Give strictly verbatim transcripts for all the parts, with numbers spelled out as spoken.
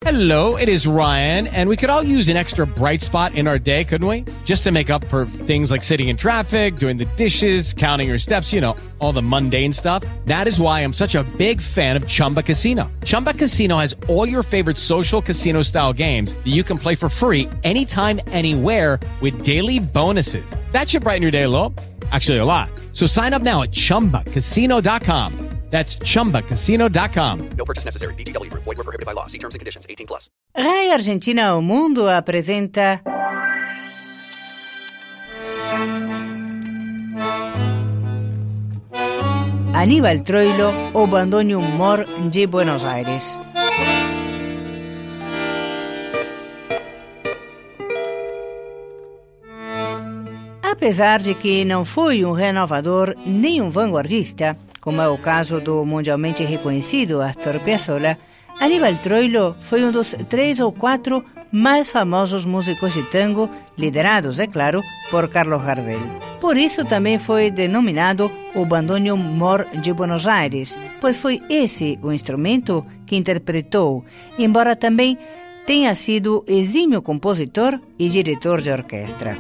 Hello, it is Ryan, and we could all use an extra bright spot in our day, couldn't we? Just to make up for things like sitting in traffic, doing the dishes, counting your steps, you know, all the mundane stuff. That is why I'm such a big fan of Chumba Casino. Chumba Casino has all your favorite social casino-style games that you can play for free anytime, anywhere with daily bonuses. That should brighten your day a little. Actually, a lot. So sign up now at chumba casino dot com. That's chumba casino dot com. No purchase necessary. V G W Group. Void where prohibited by law. See terms and conditions. eighteen plus. Rai Argentina ao Mundo apresenta Aníbal Troilo, o bandoneon mor de Buenos Aires. Apesar de que não foi um renovador nem um vanguardista, como é o caso do mundialmente reconhecido Astor Piazzolla, Aníbal Troilo foi um dos três ou quatro mais famosos músicos de tango, liderados, é claro, por Carlos Gardel. Por isso também foi denominado o bandoneon mor de Buenos Aires, pois foi esse o instrumento que interpretou, embora também tenha sido exímio compositor e diretor de orquestra.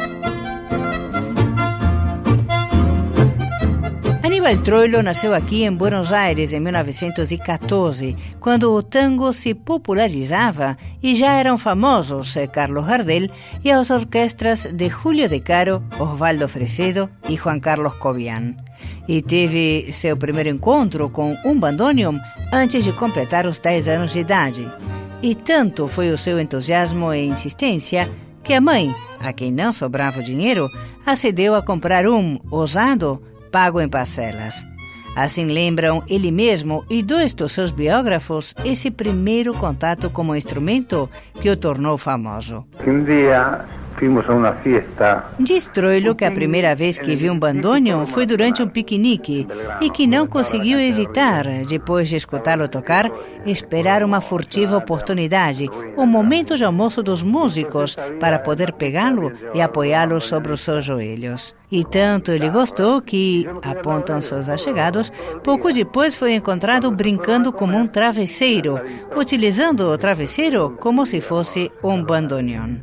Aníbal Troilo nasceu aqui em Buenos Aires em mil novecentos e quatorze, quando o tango se popularizava e já eram famosos Carlos Gardel e as orquestras de Julio De Caro, Osvaldo Fresedo e Juan Carlos Cobian. E teve seu primeiro encontro com um bandoneon antes de completar os dez anos de idade. E tanto foi o seu entusiasmo e insistência que a mãe, a quem não sobrava o dinheiro, acedeu a comprar um, usado, pago em parcelas. Assim lembram ele mesmo e dois dos seus biógrafos esse primeiro contato com o instrumento que o tornou famoso. Um dia fomos a uma festa. Diz Troilo que a primeira vez que viu um bandoneon foi durante um piquenique e que não conseguiu evitar, depois de escutá-lo tocar, esperar uma furtiva oportunidade, o momento de almoço dos músicos, para poder pegá-lo e apoiá-lo sobre os seus joelhos. E tanto ele gostou que, apontam seus allegados, pouco depois foi encontrado brincando como um travesseiro, utilizando o travesseiro como se fosse um bandoneon.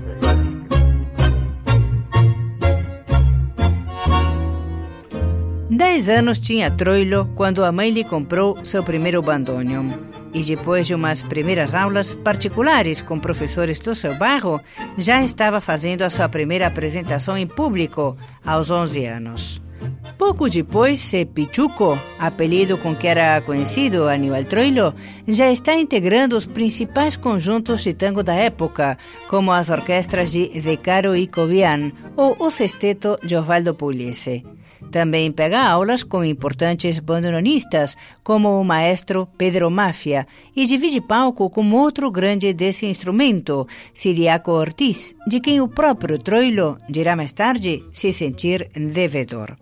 Dez anos tinha Troilo quando a mãe lhe comprou seu primeiro bandoneon. E depois de umas primeiras aulas particulares com professores do seu bairro, já estava fazendo a sua primeira apresentação em público, aos onze anos. Pouco depois, Pichuco, apelido com que era conhecido Aníbal Troilo, já está integrando os principais conjuntos de tango da época, como as orquestras de De Caro e Cobian ou o sexteto de Osvaldo Pugliese. Também pega aulas com importantes bandoneonistas, como o maestro Pedro Mafia, e divide palco com outro grande desse instrumento, Ciriaco Ortiz, de quem o próprio Troilo dirá mais tarde se sentir devedor.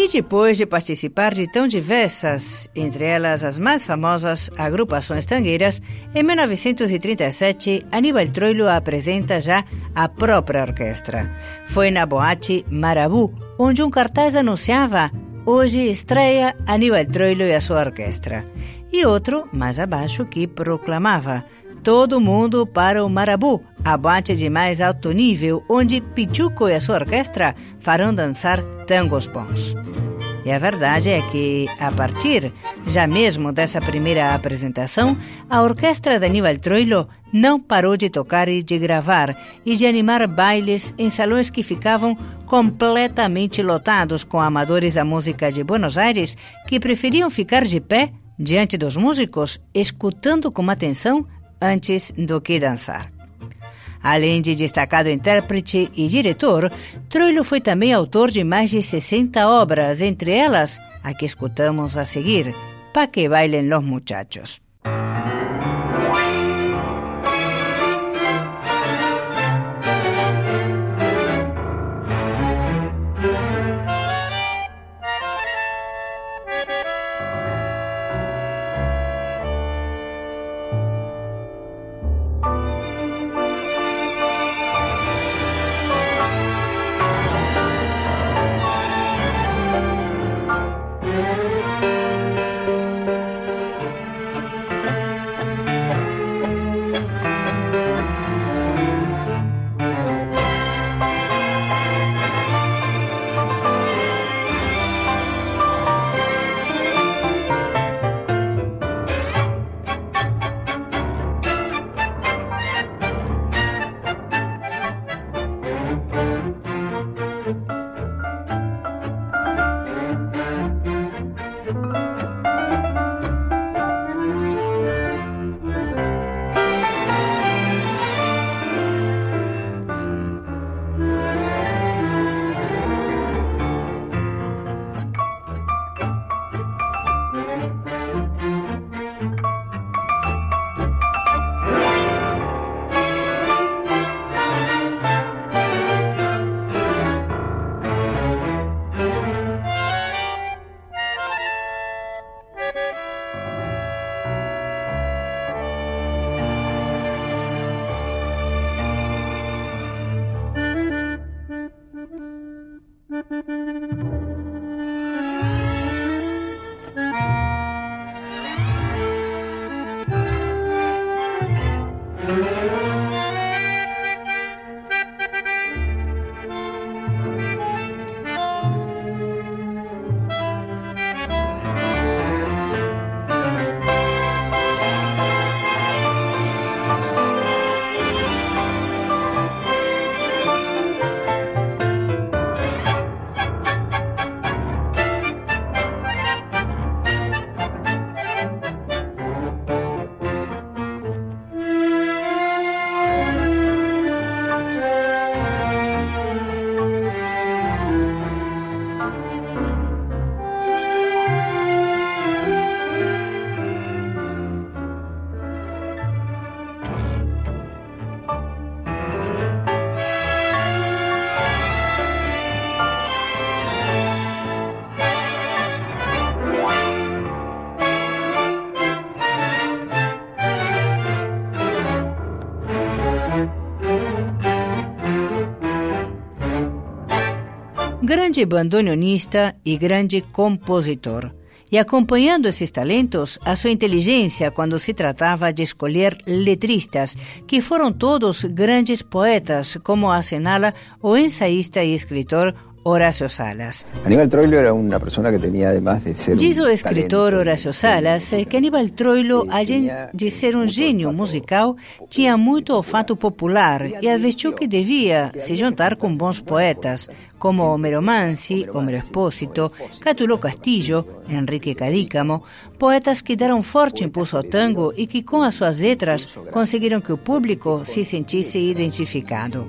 E depois de participar de tão diversas, entre elas as mais famosas agrupações tangueiras, em mil novecentos e trinta e sete, Aníbal Troilo apresenta já a própria orquestra. Foi na boate Marabú, onde um cartaz anunciava: hoje estreia Aníbal Troilo e a sua orquestra. E outro, mais abaixo, que proclamava: todo mundo para o Marabú, a boate de mais alto nível, onde Pichuco e a sua orquestra farão dançar tangos bons. E a verdade é que, a partir já mesmo dessa primeira apresentação, a orquestra de Aníbal Troilo não parou de tocar e de gravar e de animar bailes em salões que ficavam completamente lotados com amadores da música de Buenos Aires que preferiam ficar de pé diante dos músicos, escutando com atenção antes do que dançar. Além de destacado intérprete e diretor, Troilo foi também autor de mais de sessenta obras, entre elas a que escutamos a seguir, Pa' que bailen los muchachos. Grande bandoneonista e grande compositor. E acompanhando esses talentos, a sua inteligência quando se tratava de escolher letristas, que foram todos grandes poetas, como assinala o ensaísta e escritor Horacio Salas. Aníbal Troilo era una persona que tenía, además de ser Diz un o escritor talento, Horacio Salas que Aníbal Troilo, além de ser um gênio musical, tinha muito olfato popular e advertiu que devia se juntar com bons poetas, como Homero Mansi, Homero Espósito, Cátulo Castillo, Enrique Cadícamo, poetas que deram forte impulso ao tango e que, com as suas letras, conseguiram que o público se sentisse identificado.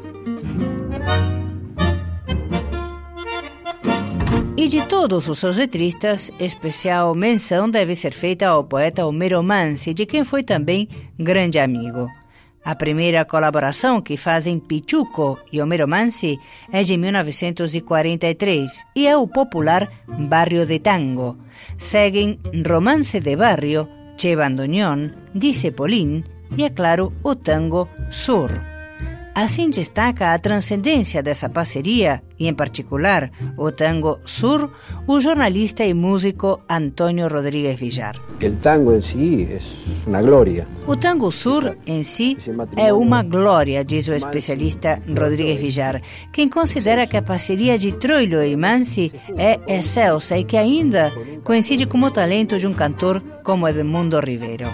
E de todos os seus letristas, especial menção deve ser feita ao poeta Homero Mansi, de quem foi também grande amigo. A primeira colaboração que fazem Pichuco e Homero Mansi é de mil novecentos e quarenta e três e é o popular Barrio de Tango. Seguem Romance de Barrio, Che Bandoneón, Dice Polín e, é claro, o tango Sur. Assim destaca a transcendência dessa parceria e, em particular, o tango Sur, o jornalista e músico Antônio Rodrigues Villar. El tango en sí es una gloria. O tango Sur, em si, é uma glória, diz o especialista Rodrigues Villar, quem considera que a parceria de Troilo e Mansi é excelsa e que ainda coincide com o talento de um cantor como Edmundo Rivero.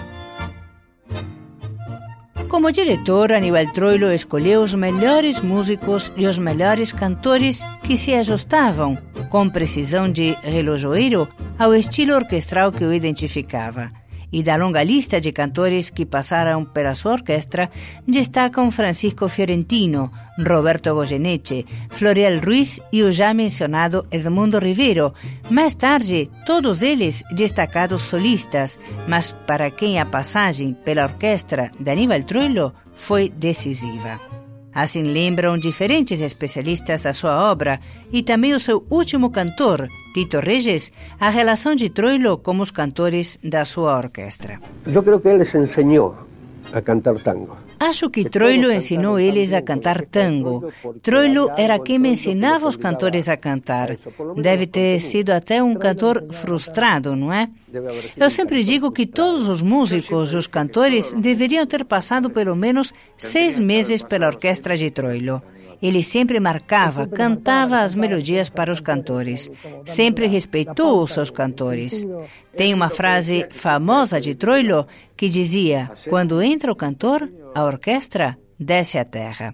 Como diretor, Aníbal Troilo escolheu os melhores músicos e os melhores cantores que se ajustavam, com precisão de relojoeiro, ao estilo orquestral que o identificava. E da longa lista de cantores que passaram pela sua orquestra, destacam Francisco Fiorentino, Roberto Goyeneche, Florial Ruiz e o já mencionado Edmundo Rivero. Mais tarde, todos eles destacados solistas, mas para quem a passagem pela orquestra de Aníbal Troilo foi decisiva. Assim lembram diferentes especialistas da sua obra e também o seu último cantor, Tito Reyes, a relação de Troilo com os cantores da sua orquestra. Eu creio que ele les ensinou a cantar tango. Acho que Troilo ensinou eles a cantar tango. Troilo era quem me ensinava os cantores a cantar. Deve ter sido até um cantor frustrado, não é? Eu sempre digo que todos os músicos, os cantores, deveriam ter passado pelo menos seis meses pela orquestra de Troilo. Ele sempre marcava, cantava as melodias para os cantores. Sempre respeitou os seus cantores. Tem uma frase famosa de Troilo que dizia: quando entra o cantor, a orquestra desce a terra.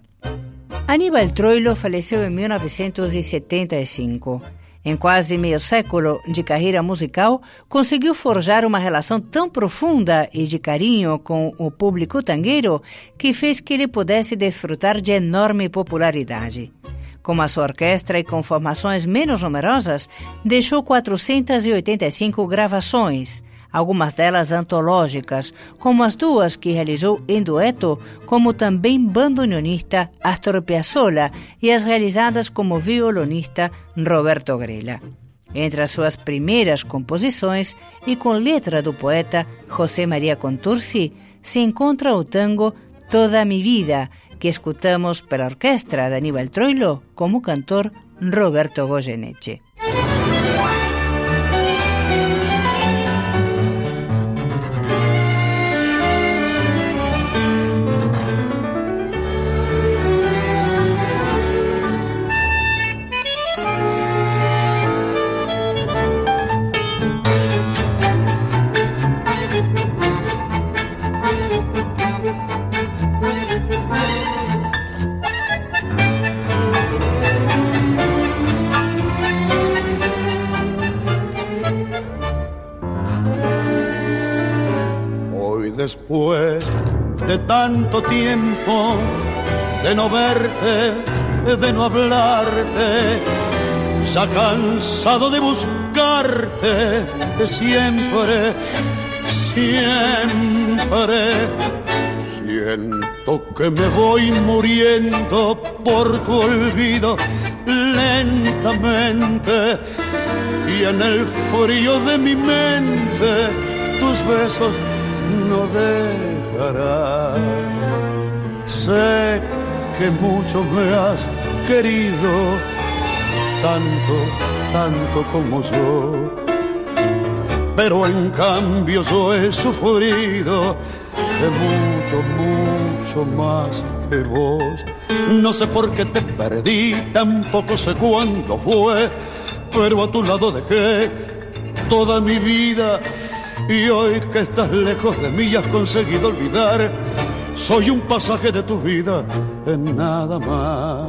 Aníbal Troilo faleceu em mil novecentos e setenta e cinco. Em quase meio século de carreira musical, conseguiu forjar uma relação tão profunda e de carinho com o público tangueiro que fez que ele pudesse desfrutar de enorme popularidade. Com a sua orquestra e com formações menos numerosas, deixou quatrocentas e oitenta e cinco gravações, algumas delas antológicas, como as duas que realizou em dueto, como também bandoneonista Astor Piazzolla e as realizadas como violonista Roberto Grela. Entre as suas primeiras composições e com letra do poeta José María Contursi, se encontra o tango Toda mi vida, que escutamos pela orquestra de Aníbal Troilo como cantor Roberto Goyeneche. Después de tanto tiempo de no verte, de no hablarte, ya cansado de buscarte siempre, siempre, siento que me voy muriendo por tu olvido lentamente y en el frío de mi mente tus besos no dejará. Sé que mucho me has querido, tanto, tanto como yo, pero en cambio yo he sufrido de mucho, mucho más que vos. No sé por qué te perdí, tampoco sé cuándo fue, pero a tu lado dejé toda mi vida. Y hoy que estás lejos de mí y has conseguido olvidar, soy un pasaje de tu vida en nada más.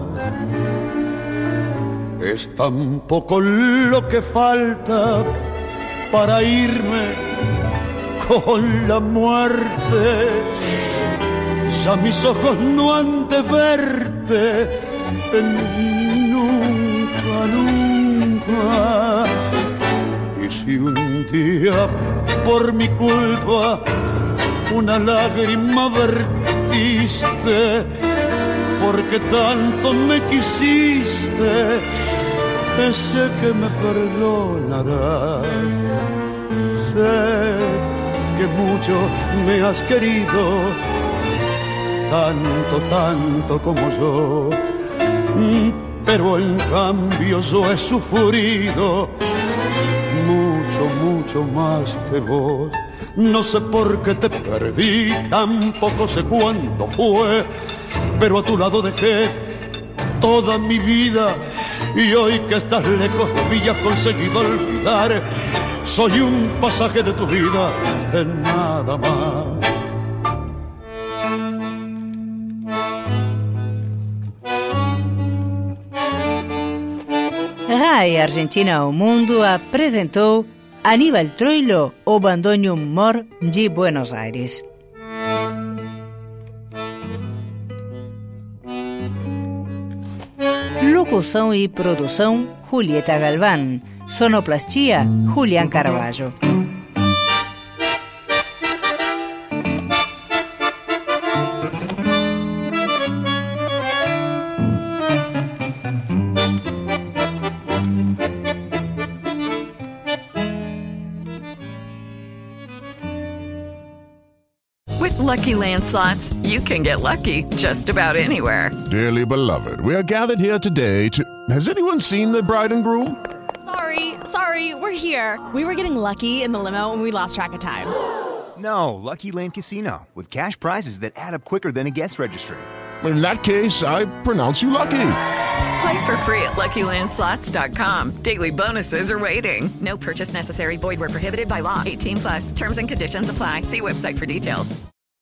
Es tan poco lo que falta para irme con la muerte. Ya mis ojos no han de verte nunca, nunca. Y si un día por mi culpa una lágrima vertiste prometiste, porque tanto me quisiste, sé que me perdonarás. Sé que mucho me has querido, tanto, tanto como yo, pero en cambio yo he sufrido mucho, mucho más que vos. No sé por qué te perdí, tampoco sé cuándo fue, pero a tu lado dejé toda mi vida, y hoy que estás lejos de mí y has conseguido olvidar, soy un pasaje de tu vida, en nada más. Rai Argentina ao Mundo apresentou Aníbal Troilo, o bandoneon Mor de Buenos Aires. Locução e produção, Julieta Galván. Sonoplastia, Julián Carvalho. With Lucky Land Slots, you can get lucky just about anywhere. Dearly beloved, we are gathered here today to... Has anyone seen the bride and groom? Sorry, sorry, we're here. We were getting lucky in the limo and we lost track of time. No, Lucky Land Casino, with cash prizes that add up quicker than a guest registry. In that case, I pronounce you lucky. Play for free at Lucky Land Slots dot com. Daily bonuses are waiting. No purchase necessary. Void where prohibited by law. eighteen plus. Terms and conditions apply. See website for details.